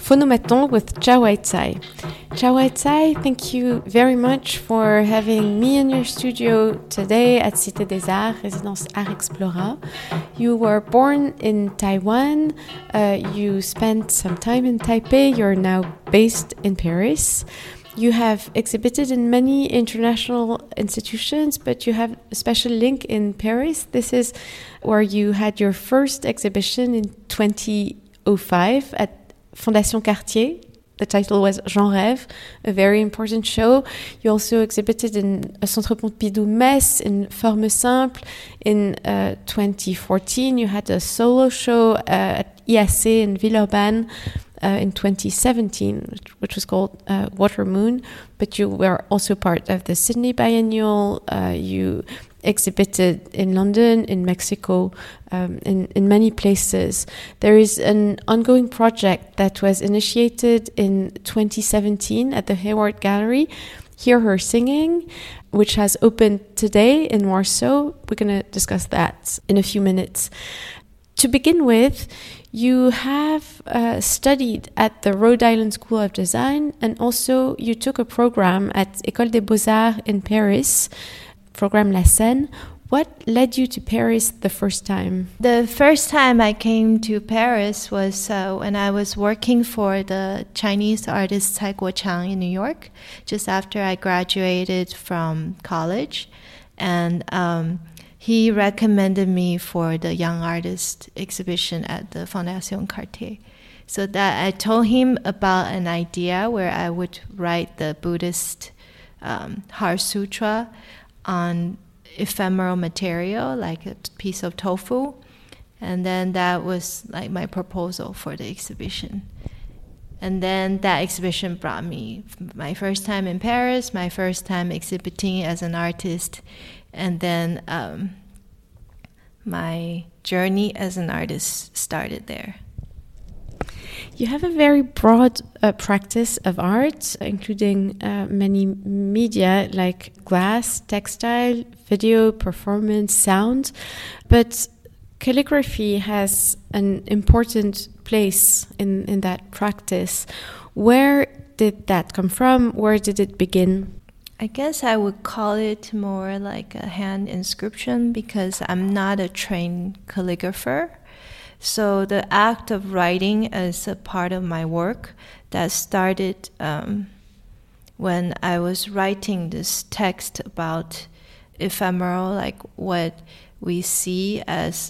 Phonomaton with Jia Weicai. Jia Weicai, thank you very much for having me in your studio today at Cité des Arts, Résidence Art Explora. You were born in Taiwan. You spent some time in Taipei. You're now based in Paris. You have exhibited in many international institutions, but you have a special link in Paris. This is where you had your first exhibition in 2005 at Fondation Cartier. The title was Jean Rêve, a very important show. You also exhibited in Centre Pompidou Metz, in Forme Simple. In 2014, you had a solo show at IAC in Villeurbanne in 2017, which was called Water Moon. But you were also part of the Sydney Biennial. You exhibited in London, in Mexico, in many places. There is an ongoing project that was initiated in 2017 at the Hayward Gallery, Hear Her Singing, which has opened today in Warsaw. We're going to discuss that in a few minutes. To begin with, you have studied at the Rhode Island School of Design, and also you took a program at École des Beaux-Arts in Paris, program La Seine. What led you to Paris the first time? The first time I came to Paris was when I was working for the Chinese artist Cai Guoqiang in New York, just after I graduated from college. And he recommended me for the Young Artist exhibition at the Fondation Cartier. So that I told him about an idea where I would write the Buddhist Heart Sutra on ephemeral material, like a piece of tofu. And then that was like my proposal for the exhibition. And then that exhibition brought me my first time in Paris, my first time exhibiting as an artist, and then my journey as an artist started there. You have a very broad practice of art, including many media like glass, textile, video, performance, sound. But calligraphy has an important place in that practice. Where did that come from? Where did it begin? I guess I would call it more like a hand inscription because I'm not a trained calligrapher. So the act of writing is a part of my work that started when I was writing this text about ephemeral, like what we see as,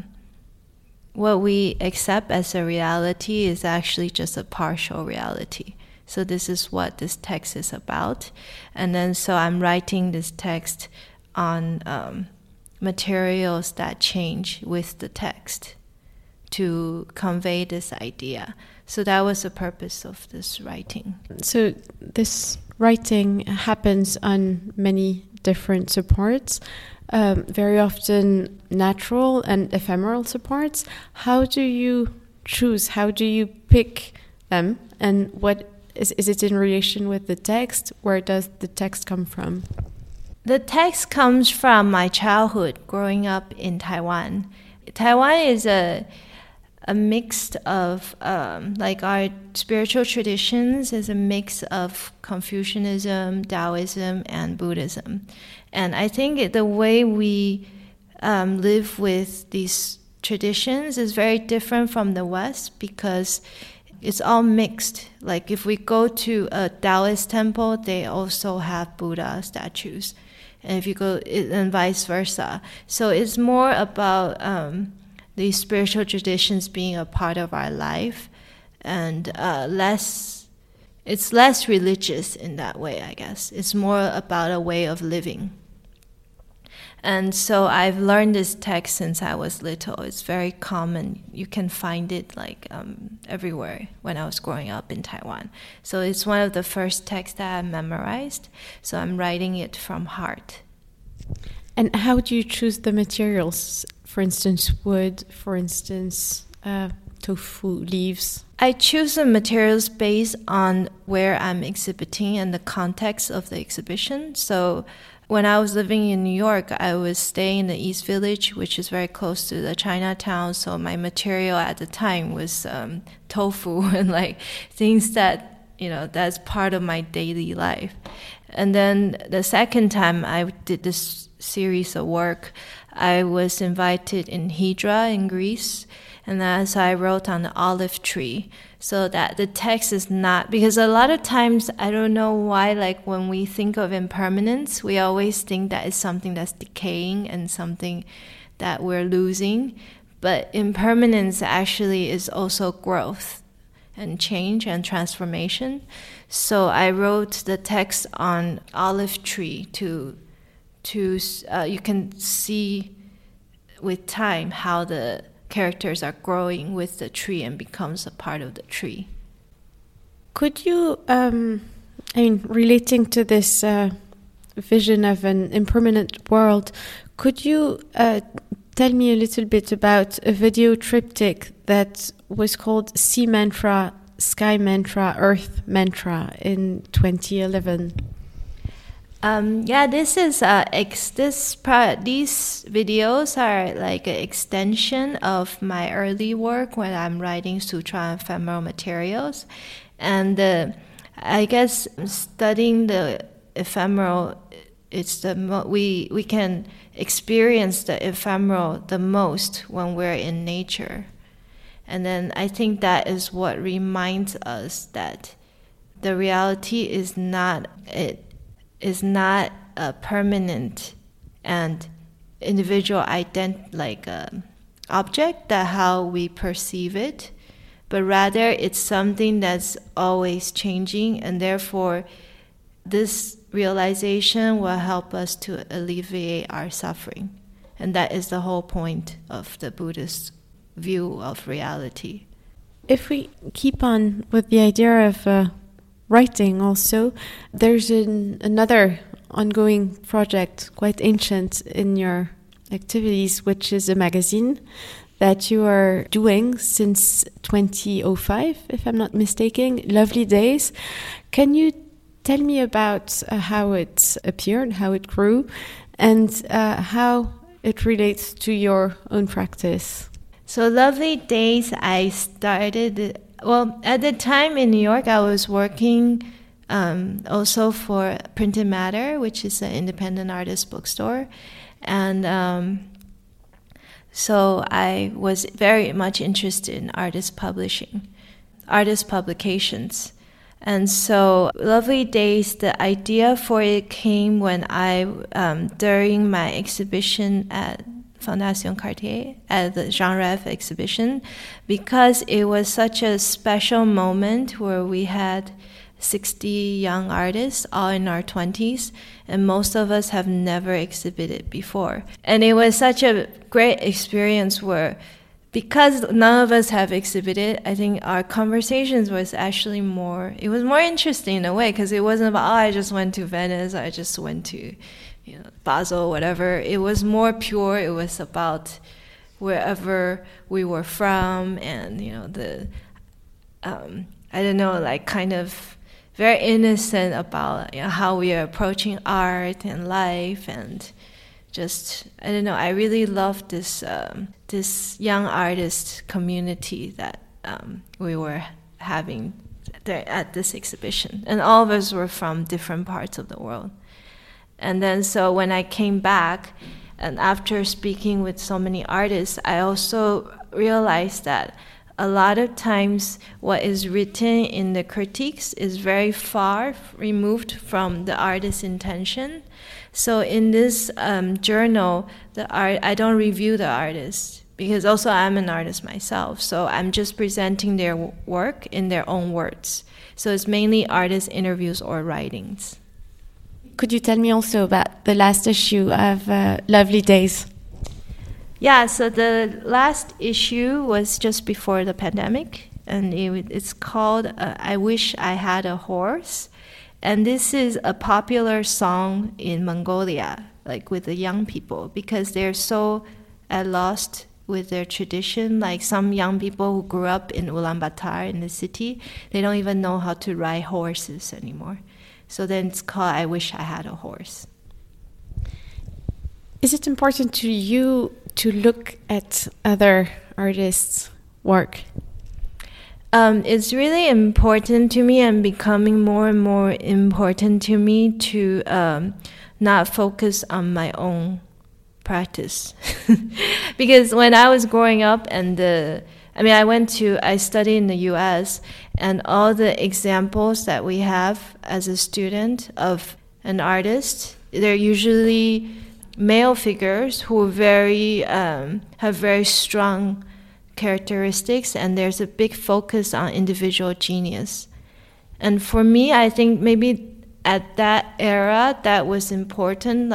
what we accept as a reality is actually just a partial reality. So this is what this text is about. And then so I'm writing this text on materials that change with the text to convey this idea. So that was the purpose of this writing. So this writing happens on many different supports, very often natural and ephemeral supports. How do you choose? How do you pick them? And what is it in relation with the text? Where does the text come from? The text comes from my childhood growing up in Taiwan. Taiwan is a mix of, like our spiritual traditions is a mix of Confucianism, Taoism, and Buddhism. And I think the way we live with these traditions is very different from the West because it's all mixed. Like if we go to a Taoist temple, they also have Buddha statues. And if you go, and vice versa. So it's more about these spiritual traditions being a part of our life, and it's less religious in that way, I guess. It's more about a way of living. And so I've learned this text since I was little. It's very common. You can find it like everywhere when I was growing up in Taiwan. So it's one of the first texts that I memorized. So I'm writing it from heart. And how do you choose the materials? For instance, wood, for instance, tofu, leaves. I choose the materials based on where I'm exhibiting and the context of the exhibition. So when I was living in New York, I was staying in the East Village, which is very close to the Chinatown. So my material at the time was tofu and like things that, that's part of my daily life. And then the second time I did this series of work, I was invited in Hydra in Greece. And as I wrote on the olive tree, so that the text is not, because a lot of times, I don't know why, like when we think of impermanence, we always think that it's something that's decaying and something that we're losing. But impermanence actually is also growth and change and transformation. So I wrote the text on olive tree to you can see with time how the characters are growing with the tree and becomes a part of the tree. Could you, relating to this vision of an impermanent world, could you tell me a little bit about a video triptych that was called Sea Mantra, Sky Mantra, Earth Mantra in 2011? This is these videos are like an extension of my early work when I'm writing sutra and ephemeral materials, and I guess studying the ephemeral, it's we can experience the ephemeral the most when we're in nature, and then I think that is what reminds us that the reality is not a permanent and individual object, that how we perceive it, but rather it's something that's always changing, and therefore this realization will help us to alleviate our suffering. And that is the whole point of the Buddhist view of reality. If we keep on with the idea of writing also, there's another ongoing project, quite ancient in your activities, which is a magazine that you are doing since 2005, if I'm not mistaken, Lovely Days. Can you tell me about how it appeared, how it grew, and how it relates to your own practice? So Lovely Days, I started... Well, at the time in New York, I was working also for Printed Matter, which is an independent artist bookstore. And so I was very much interested in artist publications. And so Lovely Days, the idea for it came when I, during my exhibition at Fondation Cartier at the Jean Rêve exhibition, because it was such a special moment where we had 60 young artists, all in our 20s, and most of us have never exhibited before. And it was such a great experience where, because none of us have exhibited, I think our conversations was actually it was more interesting in a way, because it wasn't about, I just went to Venice, I just went to Basel, whatever. It was more pure. It was about wherever we were from, and kind of very innocent about how we are approaching art and life, and just I really loved this young artist community that we were having there at this exhibition, and all of us were from different parts of the world. And then so when I came back, and after speaking with so many artists, I also realized that a lot of times what is written in the critiques is very far removed from the artist's intention. So in this journal, I don't review the artist, because also I'm an artist myself. So I'm just presenting their work in their own words. So it's mainly artist interviews or writings. Could you tell me also about the last issue of Lovely Days? Yeah, so the last issue was just before the pandemic, and it's called I Wish I Had a Horse. And this is a popular song in Mongolia, like with the young people, because they're so lost with their tradition. Like some young people who grew up in Ulaanbaatar, in the city, they don't even know how to ride horses anymore. So then it's called I Wish I Had a Horse. Is it important to you to look at other artists' work? It's really important to me and becoming more and more important to me to not focus on my own practice. Because when I was growing up I studied in the US, and all the examples that we have as a student of an artist, they're usually male figures who have very strong characteristics, and there's a big focus on individual genius. And for me, I think maybe at that era that was important,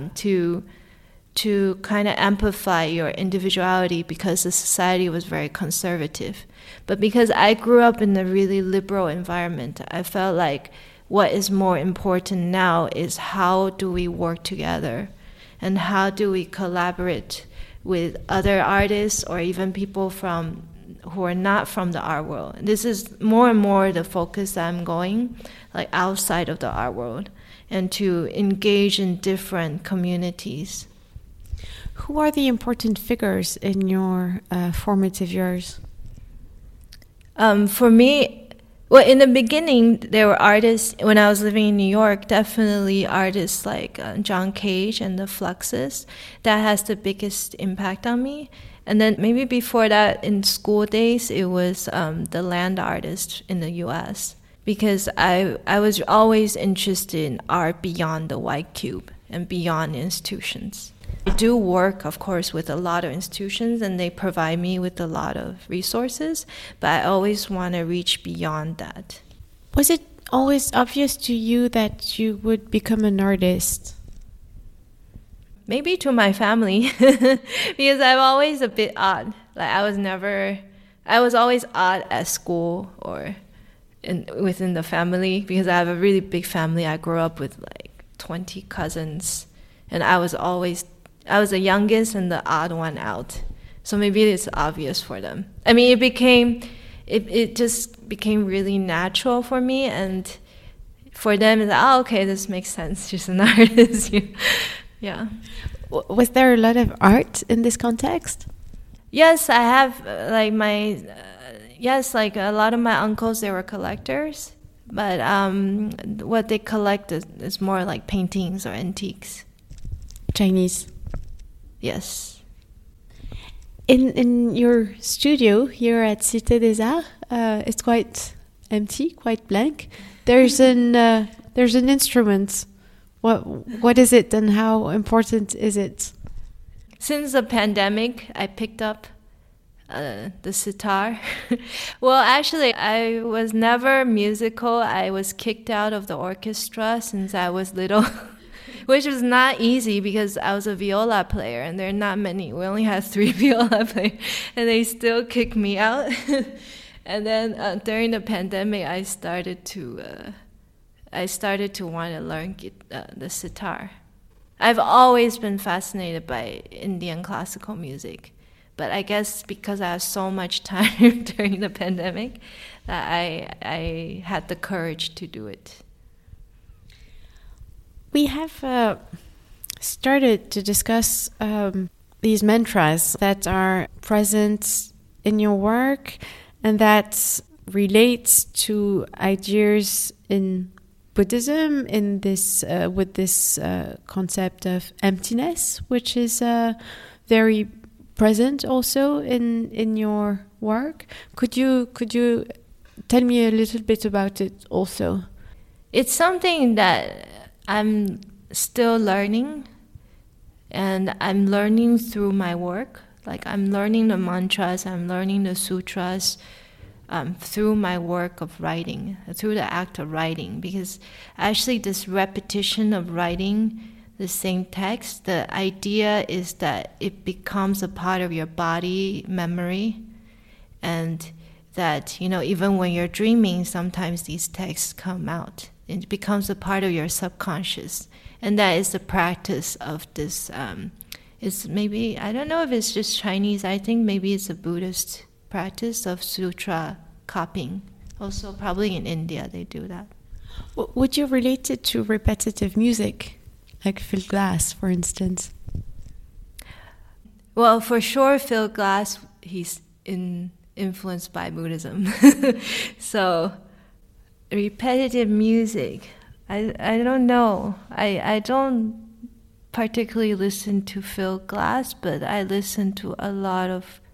to kind of amplify your individuality, because the society was very conservative. But because I grew up in a really liberal environment, I felt like what is more important now is how do we work together and how do we collaborate with other artists or even people who are not from the art world. This is more and more the focus that I'm going, like outside of the art world, and to engage in different communities. Who are the important figures in your formative years? For me, well, in the beginning, there were artists, when I was living in New York, definitely artists like John Cage and the Fluxus. That has the biggest impact on me. And then maybe before that, in school days, it was the land artists in the U.S. Because I was always interested in art beyond the white cube and beyond institutions. I do work, of course, with a lot of institutions, and they provide me with a lot of resources, but I always want to reach beyond that. Was it always obvious to you that you would become an artist? Maybe to my family, because I'm always a bit odd. I was always odd at school or within the family, because I have a really big family. I grew up with 20 cousins, and I was the youngest and the odd one out. So maybe it's obvious for them. I mean, it just became really natural for me, and for them, it's okay, this makes sense. She's an artist. Yeah. Was there a lot of art in this context? Yes, I have. A lot of my uncles, they were collectors, but what they collect is more like paintings or antiques. Chinese. Yes. In your studio here at Cité des Arts, it's quite empty, quite blank. There's an instrument. What is it, and how important is it? Since the pandemic, I picked up the sitar. Well, actually, I was never musical. I was kicked out of the orchestra since I was little. Which was not easy because I was a viola player, and there are not many. We only had 3 viola players, and they still kicked me out. And then during the pandemic, I started to want to learn the sitar. I've always been fascinated by Indian classical music, but I guess because I had so much time during the pandemic, that I had the courage to do it. We have started to discuss these mantras that are present in your work and that relates to ideas in Buddhism, in this with this concept of emptiness, which is very present also in your work. Could you tell me a little bit about it also? It's something that I'm still learning, and I'm learning through my work. I'm learning the mantras, I'm learning the sutras through my work of writing, through the act of writing, because actually this repetition of writing the same text, the idea is that it becomes a part of your body memory, and that, even when you're dreaming, sometimes these texts come out. It becomes a part of your subconscious, and that is the practice of this. It's maybe, I don't know if it's just Chinese. I think maybe it's a Buddhist practice of sutra copying. Also, probably in India they do that. Would you relate it to repetitive music, like Phil Glass, for instance? Well, for sure, Phil Glass, he's influenced by Buddhism. So, repetitive music, I don't know. I don't particularly listen to Phil Glass, but I listen to a lot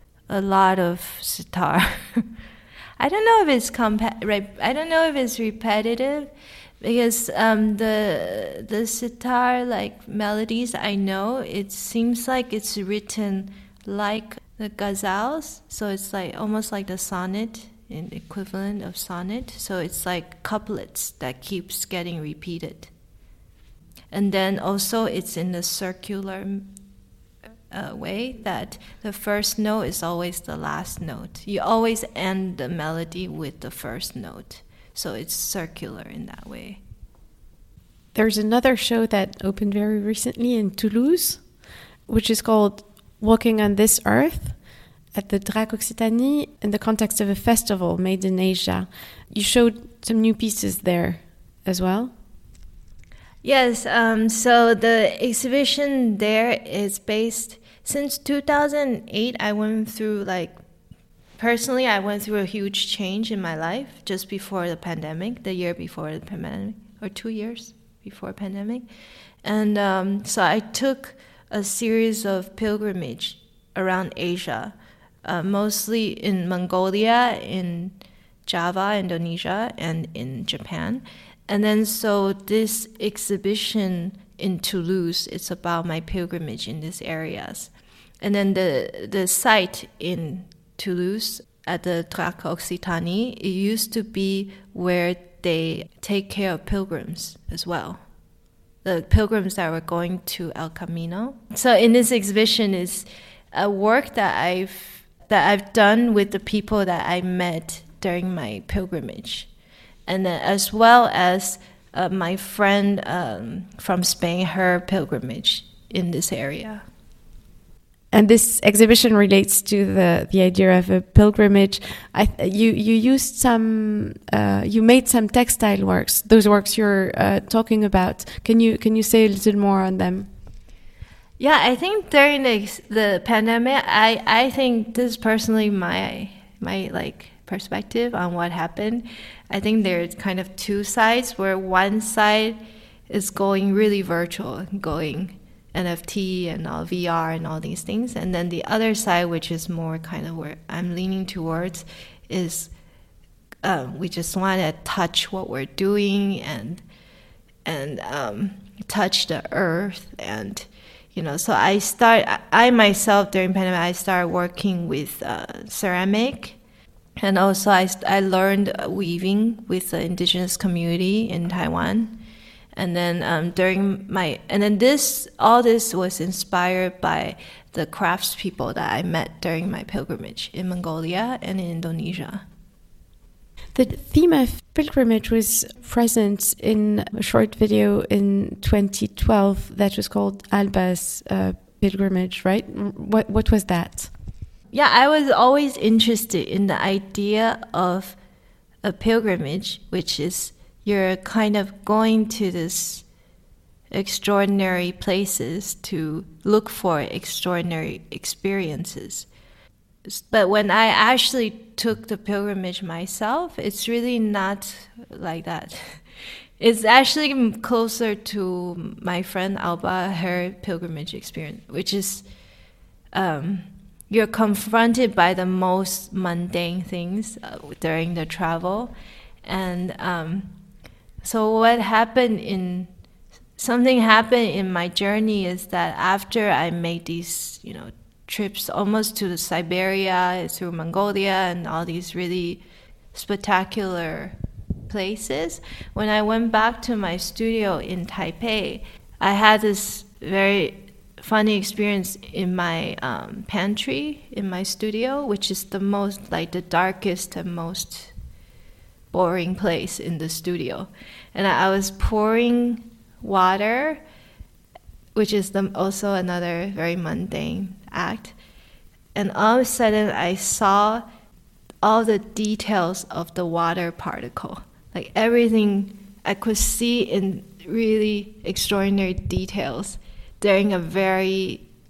of sitar. I don't know if it's I don't know if it's repetitive, because the sitar like melodies I know, it seems like it's written like the ghazals, so it's like almost like the sonnet, an equivalent of sonnet. So it's like couplets that keeps getting repeated, and then also it's in the circular way that the first note is always the last note. You always end the melody with the first note. So it's circular in that way. There's another show that opened very recently in Toulouse, which is called Walking on This Earth at the Drac Occitanie in the context of a festival made in Asia. You showed some new pieces there as well? Yes, so the exhibition there is based, since 2008, I went through personally, I went through a huge change in my life just before the pandemic, the year before the pandemic, or 2 years before pandemic. And so I took a series of pilgrimage around Asia, mostly in Mongolia, in Java, Indonesia, and in Japan. And then so this exhibition in Toulouse, it's about my pilgrimage in these areas. And then the site in Toulouse at the Drac Occitanie, it used to be where they take care of pilgrims as well. The pilgrims that were going to El Camino. So in this exhibition is a work that I've done with the people that I met during my pilgrimage. And then as well as my friend from Spain, her pilgrimage in this area. And this exhibition relates to the idea of a pilgrimage. You used you made some textile works. Those works you're talking about. Can you say a little more on them? Yeah, I think during the pandemic, I think this is personally my perspective on what happened. I think there's kind of two sides, where one side is going really virtual, going NFT and all VR and all these things, and then the other side, which is more kind of where I'm leaning towards, is we just want to touch what we're doing and touch the earth, and so I myself during pandemic I started working with ceramic. And also, I learned weaving with the indigenous community in Taiwan, and then all this was inspired by the craftspeople that I met during my pilgrimage in Mongolia and in Indonesia. The theme of pilgrimage was present in a short video in 2012 that was called Alba's pilgrimage, right? What was that? Yeah, I was always interested in the idea of a pilgrimage, which is you're kind of going to this extraordinary places to look for extraordinary experiences. But when I actually took the pilgrimage myself, it's really not like that. It's actually closer to my friend Alba, her pilgrimage experience, which is you're confronted by the most mundane things during the travel. And so something happened in my journey is that after I made these, trips almost to Siberia, through Mongolia, and all these really spectacular places, when I went back to my studio in Taipei, I had this very funny experience in my pantry in my studio, which is the most the darkest and most boring place in the studio. And I was pouring water, which is also another very mundane act. And all of a sudden I saw all the details of the water particle. Like everything I could see in really extraordinary details during a very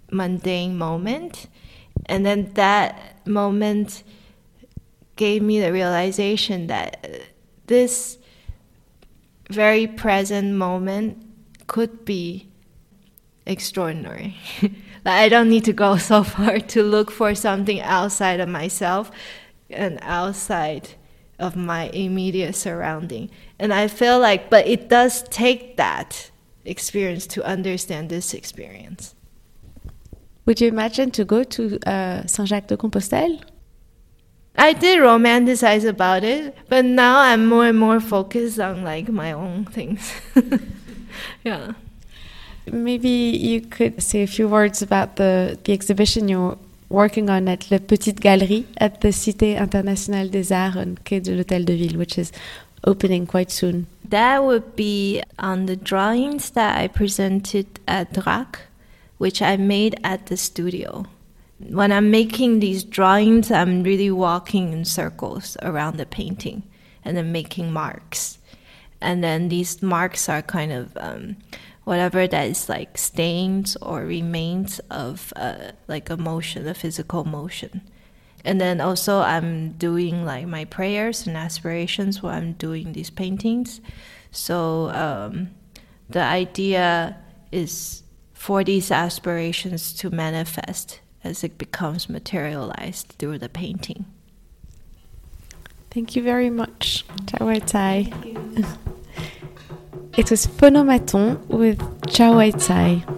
mundane moment. And then that moment gave me the realization that this very present moment could be extraordinary. I don't need to go so far to look for something outside of myself and outside of my immediate surrounding. And I feel like, but it does take that experience to understand this experience. Would you imagine to go to Saint-Jacques-de-Compostelle? I did romanticize about it, but now I'm more and more focused on like my own things. Yeah. Maybe you could say a few words about the exhibition you're working on at La Petite Galerie at the Cité Internationale des Arts on Quai de l'Hôtel de Ville, which is opening quite soon. That would be on the drawings that I presented at DRAC, which I made at the studio. When I'm making these drawings, I'm really walking in circles around the painting and then making marks. And then these marks are kind of whatever that is like stains or remains of like a motion, a physical motion. And then also I'm doing like my prayers and aspirations while I'm doing these paintings. So the idea is for these aspirations to manifest as it becomes materialized through the painting. Thank you very much, Chao Tsai. It was Phonomaton with Chao Tsai.